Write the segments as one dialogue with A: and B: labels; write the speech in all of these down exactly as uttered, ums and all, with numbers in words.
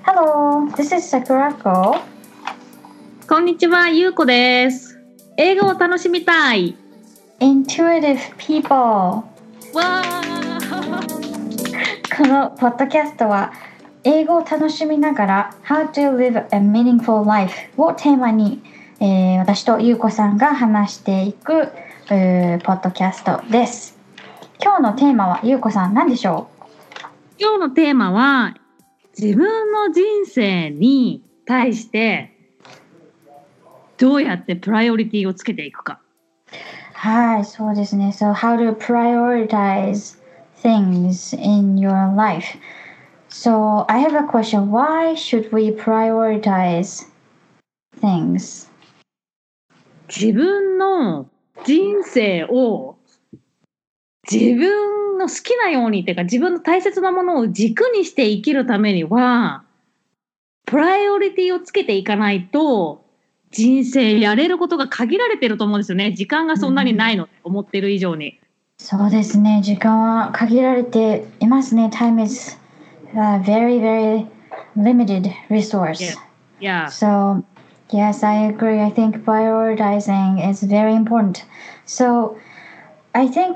A: Hello, this is Sakurako.
B: こんにちは、ゆうこです。英語を楽しみたい
A: Intuitive people.
B: わ
A: このポッドキャストは英語を楽しみながら How to live a meaningful life をテーマに、えー、私とゆうこさんが話していく、えー、ポッドキャストです。今日のテーマはゆうこさん何でしょう？
B: 今日のテーマは自分の人生に対してどうやってプライオリティをつけていくか。
A: はい、そうですね。So how to prioritize things in your life. So I have a question. Why should we prioritize things?
B: 自分の人生を自分の好きなようにっていうか自分の大切なものを軸にして生きるためにはプライオリティをつけていかないと人生やれることが限られてると思うんですよね。時間がそんなにないの、うん、思ってる以上に。
A: そうですね。時間は限られていますね。Time is a very, very limited resource.
B: Yeah. Yeah.
A: So, yes, I agree. I think prioritizing is very important. So, I think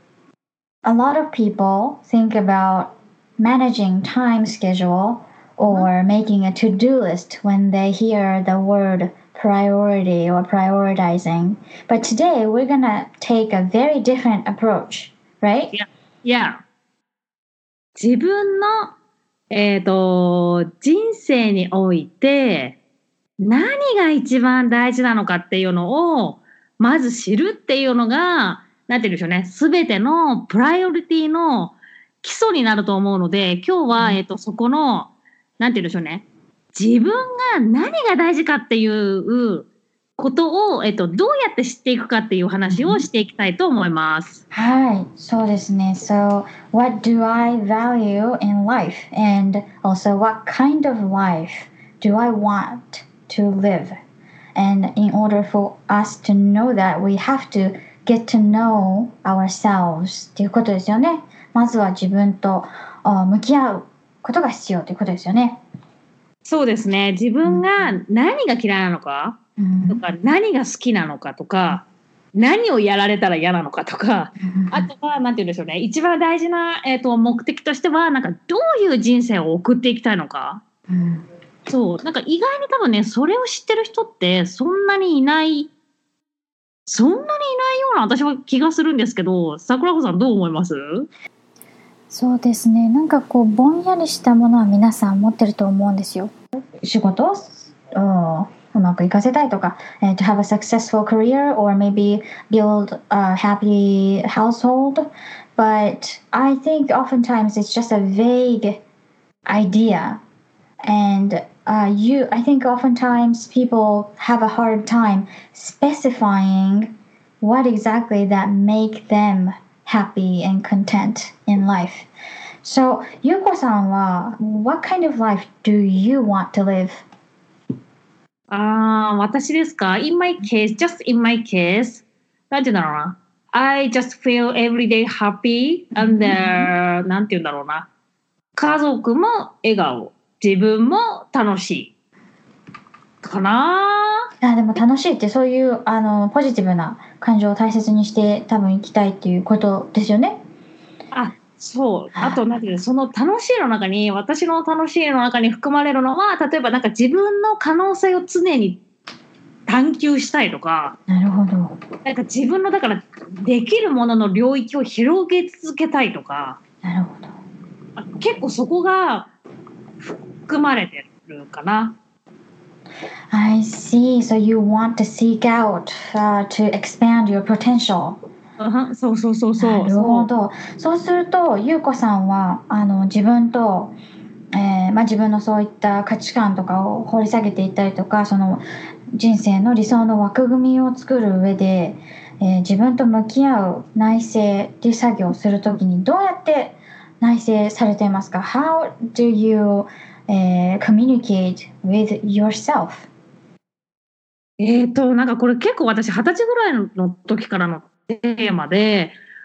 A: a lot of people think about managing time schedule or making a to-do list when they hear the word priority or prioritizing. But today we're gonna take a very different approach, right?
B: Yeah. Yeah. 自分の、えーと、人生において何が一番大事なのかっていうのをまず知るっていうのがなんて言うんでしょうね。すべてのプライオリティの基礎になると思うので、今日は、うん、えっと、そこの、なんて言うんでしょうね。自分が何が大事かっていうことを、えっと、どうやって知っていくかっていう話をしていきたいと思います。
A: うん、はい、そうですね。So, what do I value in life? And also, what kind of life do I want to live? And in order for us to know that, we have to get to know ourselves っていうことですよね。まずは自分と向き合うことが必要ということですよね。
B: そうですね。自分が何が嫌いなのか、うん、とか何が好きなのかとか、うん、何をやられたら嫌なのかとか、うん、あとはなんて言うんでしょうね。一番大事な、えーと、目的としてはなんかどういう人生を送っていきたいのか。うん、そうなんか意外に多分ねそれを知ってる人ってそんなにいない。そんなにいないような私は気がするんですけど、桜子さんどう思います？
A: そうですね。なんかこうぼんやりしたものは皆さん持ってると思うんですよ。仕事をうまくいかせたいとか、to have a successful career or maybe build a happy household. But I think oftentimes it's just a vague idea. And uh, you, I think oftentimes people have a hard time specifying what exactly that make them happy and content in life. So, Yuko-san wa, what kind of life do you want to live?
B: ああ、私ですか ?In my case, just in my case, なんて言うんだろうな。I just feel every day happy and、uh, なんて言うんだろうな。家族も笑顔。自分も楽しいかな。
A: あでも楽しいってそういうあのポジティブな感情を大切にして多分生きたいっていうことですよね。
B: あ、そう。あとなんていうのその楽しいの中に私の楽しいの中に含まれるのは例えばなんか自分の可能性を常に探求したいとか。
A: なるほど。
B: なんか自分のだからできるものの領域を広げ続けたいとか。
A: なるほど。
B: 結構そこが含まれてるかな。
A: I see. So you want to seek out、uh, to expand your potential.
B: そうそうそうそう。
A: なるほど。そうすると、ゆうこさんはあの自分と、えーまあ、自分のそういった価値観とかを掘り下げていったりとか、その人生の理想の枠組みを作る上で、えー、自分と向き合う内省っていう作業をするときにどうやって内省されていますか？ How do you、uh, communicate with yourself?
B: えーと、なんかこれ結構私二十歳ぐらいの時からのテーマで、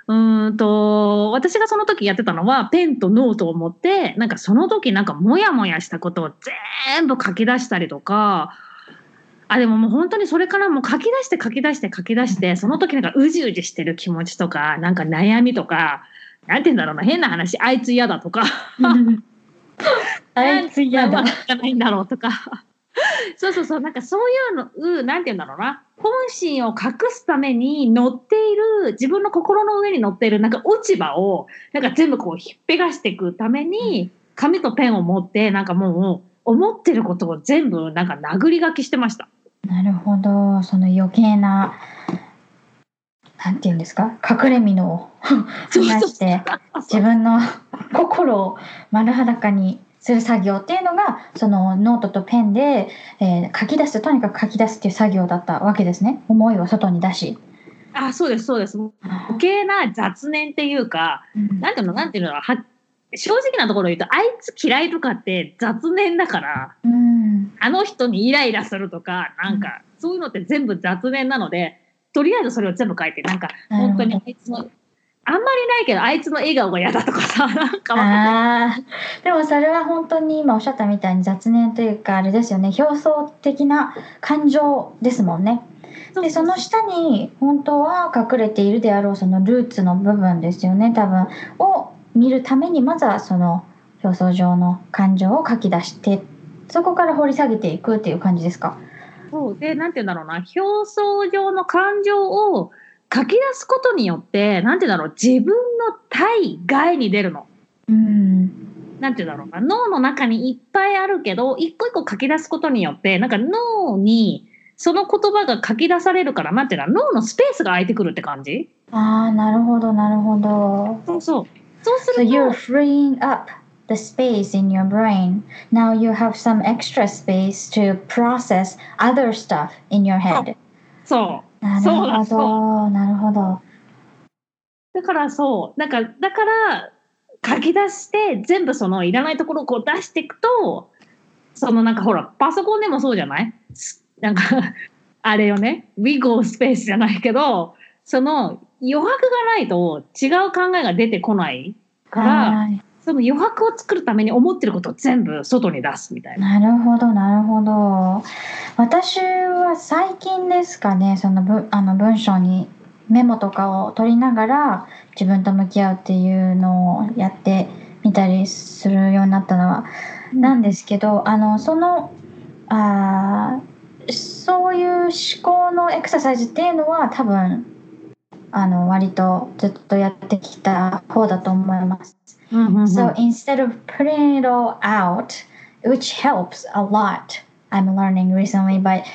B: うーんと、私がその時やってたのは、ペンとノートを持って、なんかその時なんかモヤモヤしたことを全部書き出したりとか、あ、でももう本当にそれからもう書き出して書き出して書き出して、その時なんかうじうじしてる気持ちとか、なんか悩みとか、なんて言うんだろうな、変な話、あいつ嫌だとか、
A: あいつ嫌だ。
B: なんでうまくいかないんだろうとか。そうそうそう、なんかそういうの、うなんて言うんだろうな。本心を隠すために乗っている、自分の心の上に乗っているなんか落ち葉を、なんか全部こうひっぺがしていくために、紙とペンを持って、なんかもう、思ってることを全部なんか殴り書きしてました。
A: なるほど。その余計な、なんていうんですか、隠れ蓑を話して、自分の心を丸裸にする作業っていうのが、そのノートとペンで、えー書き出す、とにかく書き出すっていう作業だったわけですね。思いを外に出し。
B: あ、そうです、そうです。余計な雑念っていうか、
A: うん
B: なんていうの、なんていうの、は正直なところ言うと、あいつ嫌いとかって雑念だから、
A: うん
B: あの人にイライラするとか、なんか、そういうのって全部雑念なので、とりあえずそれを全部書いて、なんか、本当にあいつの、あんまりないけど、あいつの笑顔が嫌だとかさ、なんかわかんない。
A: あーでもそれは本当に今おっしゃったみたいに雑念というかあれですよね、表層的な感情ですもんね。でその下に本当は隠れているであろうそのルーツの部分ですよね、多分を見るためにまずはその表層上の感情を書き出して、そこから掘り下げていくっていう感じですか。
B: そうで、なんて言うんだろうな、表層上の感情を書き出すことによって、なんて言うんだろう、自分の対外に出るの。
A: うん
B: なんて言うんだろうな、脳の中にいっぱいあるけど、一個一個書き出すことによって、なんか脳にその言葉が書き出されるから、なんていうの、脳のスペースが空いてくるって感じ。
A: ああ、なるほどなるほど。
B: そうそう。そうす
A: So
B: ると、
A: you're freeing up the space in your brain. Now you have some extra space to process other stuff in your head.
B: そう。
A: なる
B: そうだ、
A: ほ
B: そう。
A: ど、なるほど。
B: だからそう。なんか、だから書き出して全部そのいらないところをこう出していくと、そのなんかほら、パソコンでもそうじゃない？なんか、あれよね。We go space じゃないけど、その余白がないと違う考えが出てこないから、
A: はい。
B: その余白を作るために思ってることを全部外に出すみたいな。
A: なるほど、なるほど。私は最近ですかね、そのぶあの文章にメモとかを取りながら自分と向き合うっていうのをやってみたりするようになったのはなんですけど、あのそのあーそういう思考のエクササイズっていうのは多分あの割とずっとやってきた方だと思います。
B: うんうんうん、
A: So instead of putting it all out, which helps a lot, I'm learning recently, but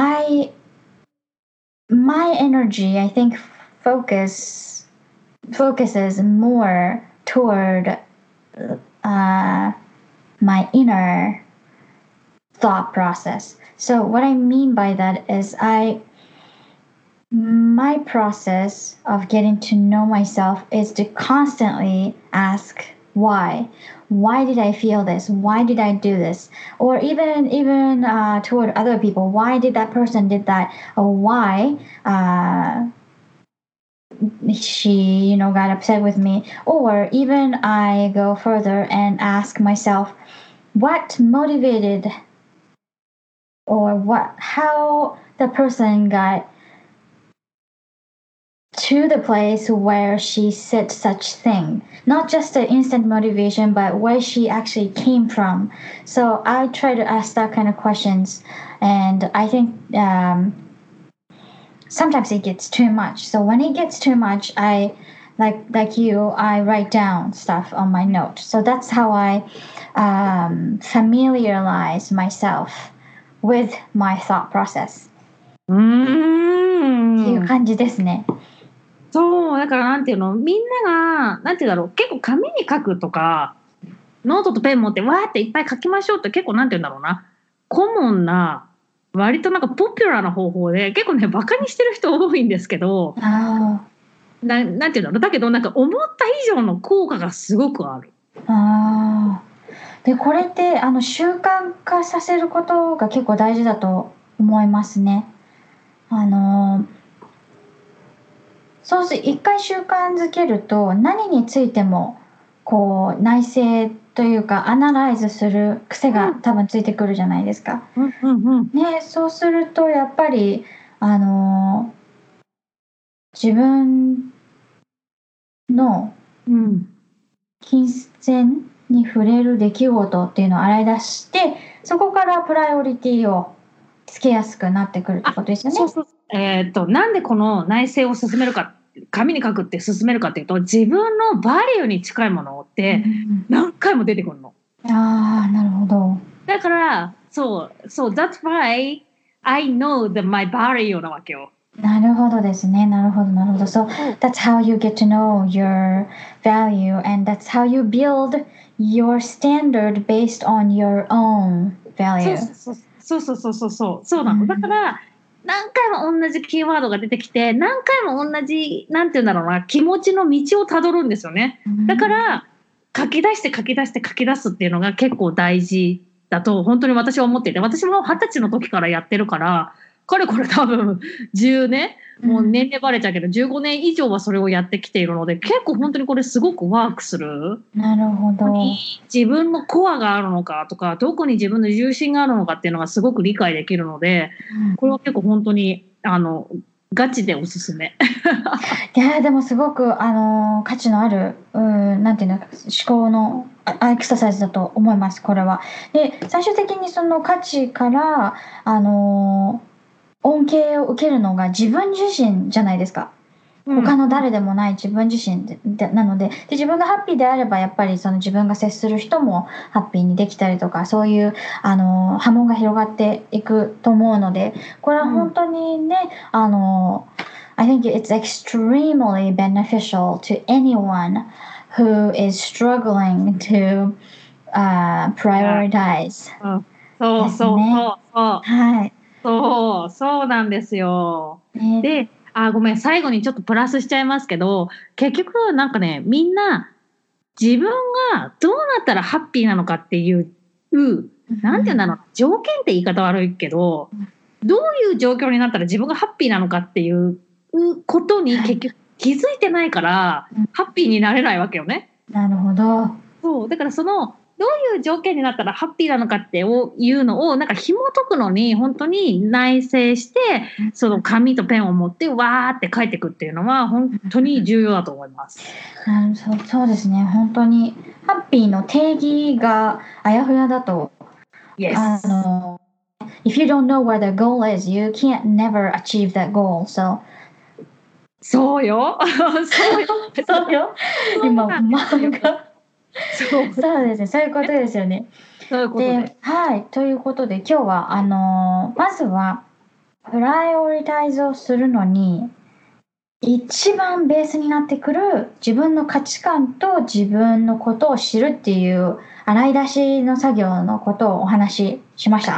A: I, my energy, I think, focus focuses more toward uh, my inner thought process. So what I mean by that is I my process of getting to know myself is to constantly ask why why did I feel this, why did I do this, or even even uh, toward other people, why did that person did that, or why uh, she you know got upset with me, or even I go further and ask myself what motivated or what how the person got to the place where she said such thing, not just the instant motivation but where she actually came from. So I try to ask that kind of questions, and I think um, sometimes it gets too much. So when it gets too much, I like like you I write down stuff on my note. So that's how I um, familiarize myself with my thought process.
B: うーん。
A: っていう感じですね。
B: そう、だからなんていうの、みんなが、なんていうんだろう、結構紙に書くとか、ノートとペン持ってわーっていっぱい書きましょうって結構なんていうんだろうな、コモンな、割となんかポピュラーな方法で、結構ね、バカにしてる人多いんですけど、
A: あ
B: ななんていうんだろう、だけどなんか思った以上の効果がすごくある。
A: あーでこれってあの習慣化させることが結構大事だと思いますね。あのそうす一回習慣づけると何についてもこう内省というかアナライズする癖が多分ついてくるじゃないですか。
B: うんうんうん。
A: ね、そうするとやっぱりあの自分の
B: うん。
A: 金銭に触れる出来事っていうのを洗い出して、そこからプライオリティをつけやすくなってくるってことですよね。
B: そうそう。えーっと、なんでこの内省を進めるか、紙に書くって進めるかっていうと、自分のバリューに近いものって
A: うん
B: 何回も出てくるの。
A: ああ、なるほど。
B: だから、そう、そう、that's why I know that my value なわけよ。
A: なるほどですね。なるほど、なるほど。So
B: そう
A: that's how you get to know your value and that's how you build your standard based on your own
B: そう
A: value.
B: そうそうそうそうそうそうそうなの。だから何回も同じキーワードが出てきて、何回も同じなんていうんだろうな、気持ちの道をたどるんですよね。だから書き出して書き出して書き出すっていうのが結構大事だと本当に私は思っていて、私も二十歳の時からやってるから、かれこれ多分じゅうねん、もう年齢バレちゃうけどじゅうごねん以上はそれをやってきているので、結構本当にこれすごくワークする。
A: なるほど。
B: 自分のコアがあるのかとか、どこに自分の重心があるのかっていうのがすごく理解できるので、これは結構本当にあのガチでおすすめ。
A: いやでもすごくあの価値のあるうーなんていうの思考のあエクササイズだと思いますこれは。で最終的にその価値からあの恩恵を受けるのが自分自身じゃないですか。他の誰でもない自分自身 で, でなの で, で自分がハッピーであればやっぱりその自分が接する人もハッピーにできたりとか、そういうあの波紋が広がっていくと思うので、これは本当にね、うん、あの I think it's extremely beneficial to anyone who is struggling to、uh, prioritize、
B: うん、そうそうそうそう、
A: はい、
B: そうそうなんですよ、ね、であ、ごめん、最後にちょっとプラスしちゃいますけど、結局なんかね、みんな自分がどうなったらハッピーなのかっていう、なんていうんだろう、条件って言い方悪いけど、どういう状況になったら自分がハッピーなのかっていうことに結局気づいてないから、ハッピーになれないわけよね。
A: なるほど。
B: そう、だからそのどういう条件になったらハッピーなのかっていうのをなんか紐解くのに本当に内省して、その紙とペンを持ってわーって書いていくっていうのは本当に重要だと思います。
A: うん、そう、そうですね。本当にハッピーの定義があやふやだと、
B: yes.
A: あの If you don't know where the goal is, you can't never achieve that goal. So
B: そうよ。そうよ。
A: そうよ。今漫画そうそうですね。そういうことですよね。
B: そういうことで。
A: で、はい。ということで今日はあのまずはプライオリタイズをするのに一番ベースになってくる自分の価値観と自分のことを知るっていう洗い出しの作業のことをお話ししました。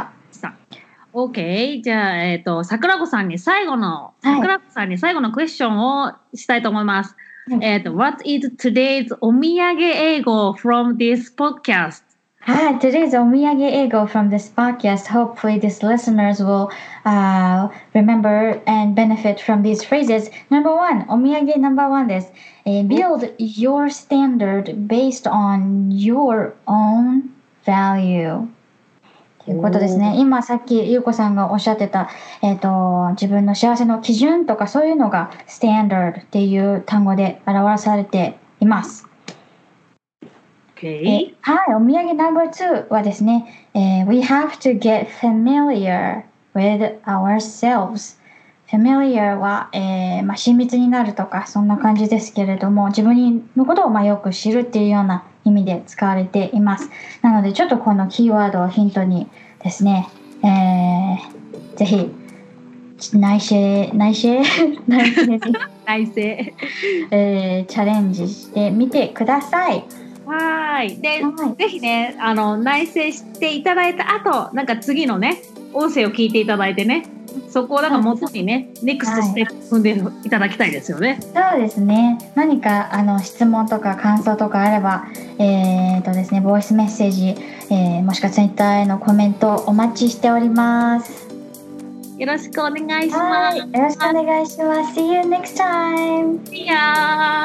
B: OK。じゃあ、えっと、桜子さんに最後の、はい、桜子さんに最後のクエスチョンをしたいと思います。はい、えっと、What is today's お土産英語 from this podcast?
A: はい、today's お土産英語 from this podcast. Hopefully these listeners will、uh, remember and benefit from these phrases. Number one, お土産 number one です。Uh, build your standard based on your own value.ということですね。今さっきゆうこさんがおっしゃってた、えーと、自分の幸せの基準とかそういうのが standard っていう単語で表されています。
B: Okay.
A: はい、お土産 ナンバーツー はですね、えー、We have to get familiar with ourselves。familiar は、えーまあ、親密になるとかそんな感じですけれども、自分のことをまあよく知るっていうような意味で使われています。なのでちょっとこのキーワードをヒントにですね、えー、ぜひ内省内省内省
B: 内省、
A: えー、チャレンジしてみてください。
B: はいで、はい、ぜひねあの内省していただいた後、なんか次のね音声を聞いていただいてね、そこをなんか元にね、ネクストステップ踏んでいただきたいですよね。
A: そうですね。何かあの質問とか感想とかあれば、えーとですね、ボイスメッセージ、えー、もしくはツイッターへのコメントお待ちしております。
B: よろしくお願いしま
A: はい、よろしくお願いします。See you next time!
B: す。いやー